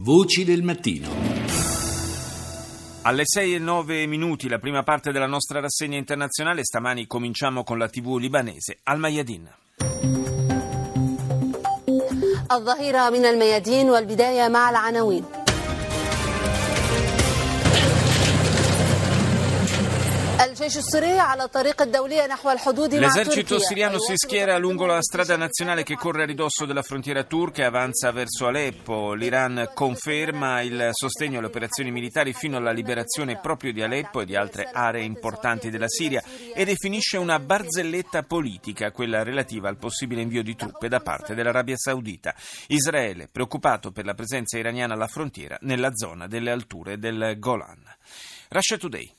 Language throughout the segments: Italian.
Voci del mattino. Alle 6:09, la prima parte della nostra rassegna internazionale. Stamani cominciamo con la TV libanese Al Mayadin. الظهيرة من الميادين والبداية مع العناوين. L'esercito siriano si schiera lungo la strada nazionale che corre a ridosso della frontiera turca e avanza verso Aleppo. L'Iran conferma il sostegno alle operazioni militari fino alla liberazione proprio di Aleppo e di altre aree importanti della Siria e definisce una barzelletta politica, quella relativa al possibile invio di truppe da parte dell'Arabia Saudita. Israele, preoccupato per la presenza iraniana alla frontiera nella zona delle alture del Golan. Russia Today.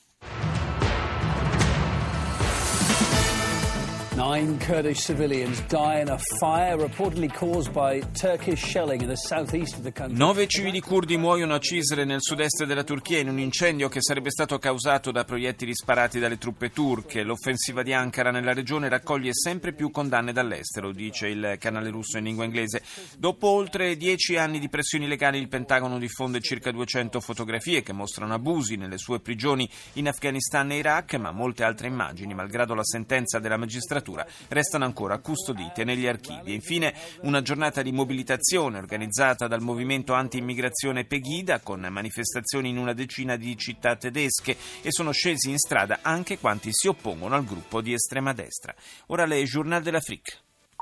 9 Kurdish civilians die in a fire reportedly caused by Turkish shelling in the southeast of the country. 9 civili curdi muoiono a Cizre nel sud-est della Turchia in un incendio che sarebbe stato causato da proiettili sparati dalle truppe turche. L'offensiva di Ankara nella regione raccoglie sempre più condanne dall'estero, dice il canale russo in lingua inglese. Dopo oltre 10 anni di pressioni legali, il Pentagono diffonde circa 200 fotografie che mostrano abusi nelle sue prigioni in Afghanistan e Iraq, ma molte altre immagini, malgrado la sentenza della magistratura, restano ancora custodite negli archivi. E infine una giornata di mobilitazione organizzata dal movimento anti-immigrazione Pegida, con manifestazioni in una decina di città tedesche, e sono scesi in strada anche quanti si oppongono al gruppo di estrema destra. Ora le Journal de l'Afrique.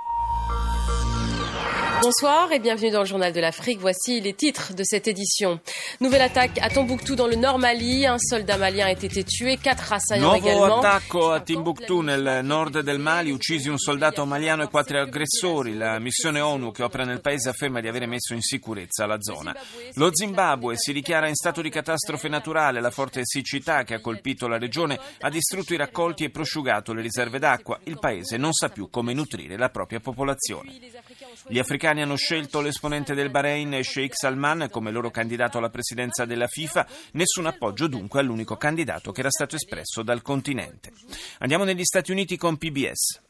Bonsoir et bienvenue dans le Journal de l'Afrique. Voici les titres de cette édition. Nouvelle attaque à Tombouctou dans le nord Mali. Un soldat malien a été tué, 4 assaillants également. Nuovo attacco a Timbuktu nel nord del Mali, uccisi un soldato maliano e 4 aggressori. La missione ONU che opera nel paese afferma di avere messo in sicurezza la zona. Lo Zimbabwe si dichiara in stato di catastrofe naturale. La forte siccità che ha colpito la regione ha distrutto i raccolti e prosciugato le riserve d'acqua. Il paese non sa più come nutrire la propria popolazione. Gli africani hanno scelto l'esponente del Bahrain, Sheikh Salman, come loro candidato alla presidenza della FIFA. Nessun appoggio dunque all'unico candidato che era stato espresso dal continente. Andiamo negli Stati Uniti con PBS.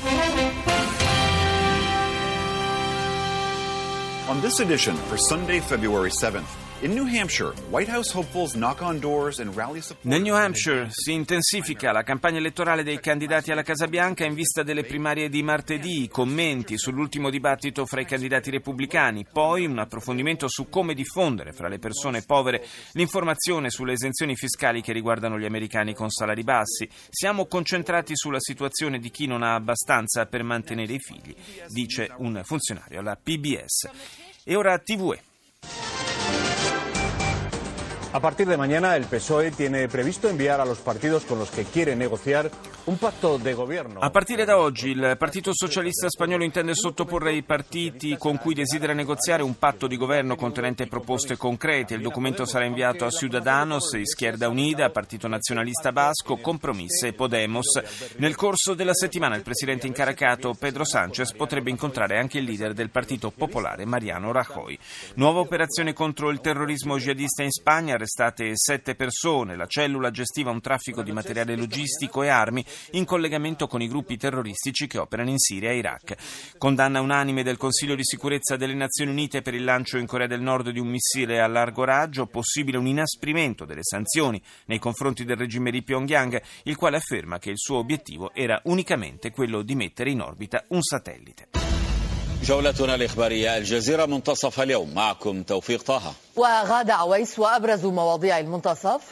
On this edition for Sunday, February 7th, in New Hampshire, White House hopefuls knock on doors and rally support. Nel New Hampshire si intensifica la campagna elettorale dei candidati alla Casa Bianca in vista delle primarie di martedì, commenti sull'ultimo dibattito fra i candidati repubblicani, poi un approfondimento su come diffondere fra le persone povere l'informazione sulle esenzioni fiscali che riguardano gli americani con salari bassi. Siamo concentrati sulla situazione di chi non ha abbastanza per mantenere i figli, dice un funzionario alla PBS. E ora TVE. A partir de mañana, el PSOE tiene previsto enviar a los partidos con los que quiere negociar un pacto de gobierno. A partire da oggi il Partito Socialista Spagnolo intende sottoporre ai partiti con cui desidera negoziare un patto di governo contenente proposte concrete. Il documento sarà inviato a Ciudadanos, Izquierda Unida, Partito Nazionalista Basco, Compromís e Podemos. Nel corso della settimana il presidente incaricato Pedro Sánchez potrebbe incontrare anche il leader del Partito Popolare Mariano Rajoy. Nuova operazione contro il terrorismo jihadista in Spagna, arrestate 7 persone. La cellula gestiva un traffico di materiale logistico e armi in collegamento con i gruppi terroristici che operano in Siria e Iraq. Condanna unanime del Consiglio di sicurezza delle Nazioni Unite per il lancio in Corea del Nord di un missile a largo raggio, possibile un inasprimento delle sanzioni nei confronti del regime di Pyongyang, il quale afferma che il suo obiettivo era unicamente quello di mettere in orbita un satellite. جولتنا الإخبارية الجزيرة منتصف اليوم معكم توفيق طه وغادة عويس وأبرز مواضيع المنتصف.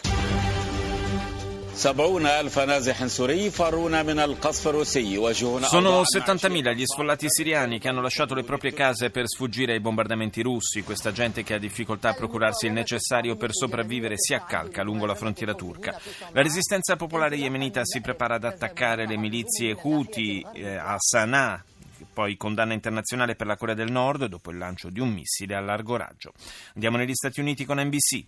70,000 نازح سوري فرون من القصف الروسي يواجهون. Sono 70.000 gli sfollati siriani che hanno lasciato le proprie case per sfuggire ai bombardamenti russi. Questa gente che ha difficoltà a procurarsi il necessario per sopravvivere si accalca lungo la frontiera turca. La resistenza popolare yemenita si prepara ad attaccare le milizie Houthi a Sana'a. Poi condanna internazionale per la Corea del Nord dopo il lancio di un missile a largo raggio. Andiamo negli Stati Uniti con NBC.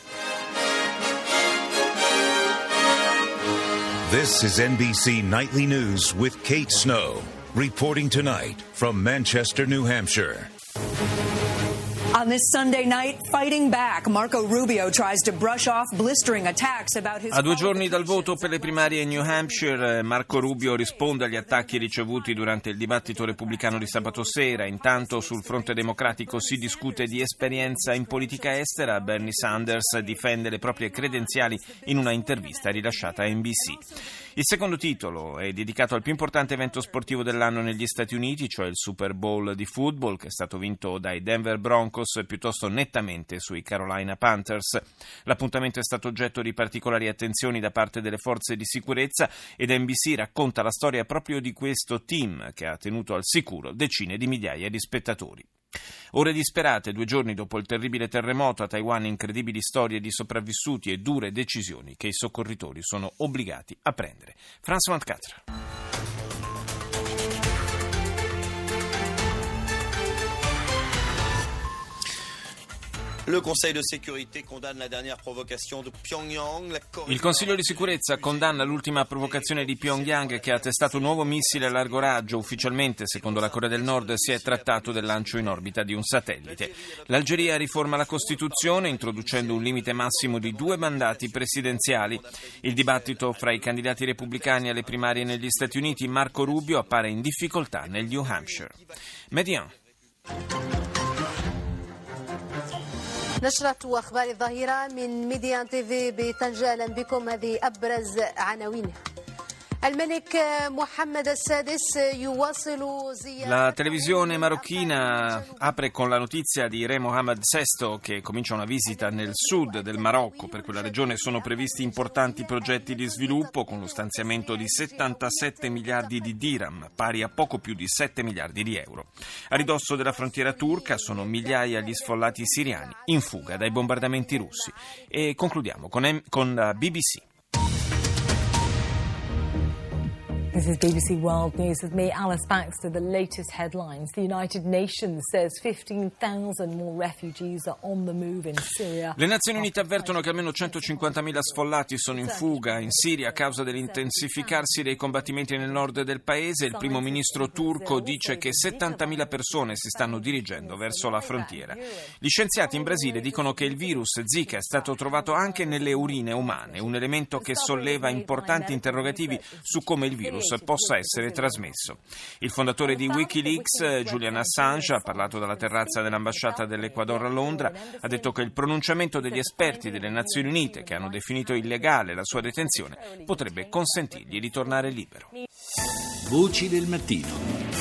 This is NBC Nightly News with Kate Snow, reporting tonight from Manchester, New Hampshire. On this Sunday night, fighting back, Marco Rubio tries to brush off blistering attacks about his... A 2 giorni dal voto per le primarie in New Hampshire, Marco Rubio risponde agli attacchi ricevuti durante il dibattito repubblicano di sabato sera. Intanto sul fronte democratico si discute di esperienza in politica estera. Bernie Sanders difende le proprie credenziali in una intervista rilasciata a NBC. Il secondo titolo è dedicato al più importante evento sportivo dell'anno negli Stati Uniti, cioè il Super Bowl di football, che è stato vinto dai Denver Broncos piuttosto nettamente sui Carolina Panthers. L'appuntamento è stato oggetto di particolari attenzioni da parte delle forze di sicurezza ed NBC racconta la storia proprio di questo team che ha tenuto al sicuro decine di migliaia di spettatori. Ore disperate, 2 giorni dopo il terribile terremoto a Taiwan, incredibili storie di sopravvissuti e dure decisioni che i soccorritori sono obbligati a prendere. France 24. Il Consiglio di sicurezza condanna l'ultima provocazione di Pyongyang che ha testato un nuovo missile a largo raggio. Ufficialmente, secondo la Corea del Nord, si è trattato del lancio in orbita di un satellite. L'Algeria riforma la Costituzione introducendo un limite massimo di 2 mandati presidenziali. Il dibattito fra i candidati repubblicani alle primarie negli Stati Uniti, Marco Rubio appare in difficoltà nel New Hampshire. Median. نشرة أخبار الظهيرة من ميديان تيفي بطنجة. أهلا بكم. هذه أبرز عناوينها. La televisione marocchina apre con la notizia di Re Mohammed VI che comincia una visita nel sud del Marocco. Per quella regione sono previsti importanti progetti di sviluppo con lo stanziamento di 77 miliardi di dirham, pari a poco più di 7 miliardi di euro. A ridosso della frontiera turca sono migliaia gli sfollati siriani in fuga dai bombardamenti russi. E concludiamo con la BBC. This is BBC World News with me, Alice Baxter. The latest headlines. The United Nations says 15,000 more refugees are on the move in Syria. Le Nazioni Unite avvertono che almeno 150.000 sfollati sono in fuga in Siria a causa dell'intensificarsi dei combattimenti nel nord del paese. Il primo ministro turco dice che 70.000 persone si stanno dirigendo verso la frontiera. Gli scienziati in Brasile dicono che il virus Zika è stato trovato anche nelle urine umane, un elemento che solleva importanti interrogativi su come il virus possa essere trasmesso. Il fondatore di Wikileaks, Julian Assange, ha parlato dalla terrazza dell'ambasciata dell'Ecuador a Londra, ha detto che il pronunciamento degli esperti delle Nazioni Unite che hanno definito illegale la sua detenzione potrebbe consentirgli di tornare libero. Voci del mattino.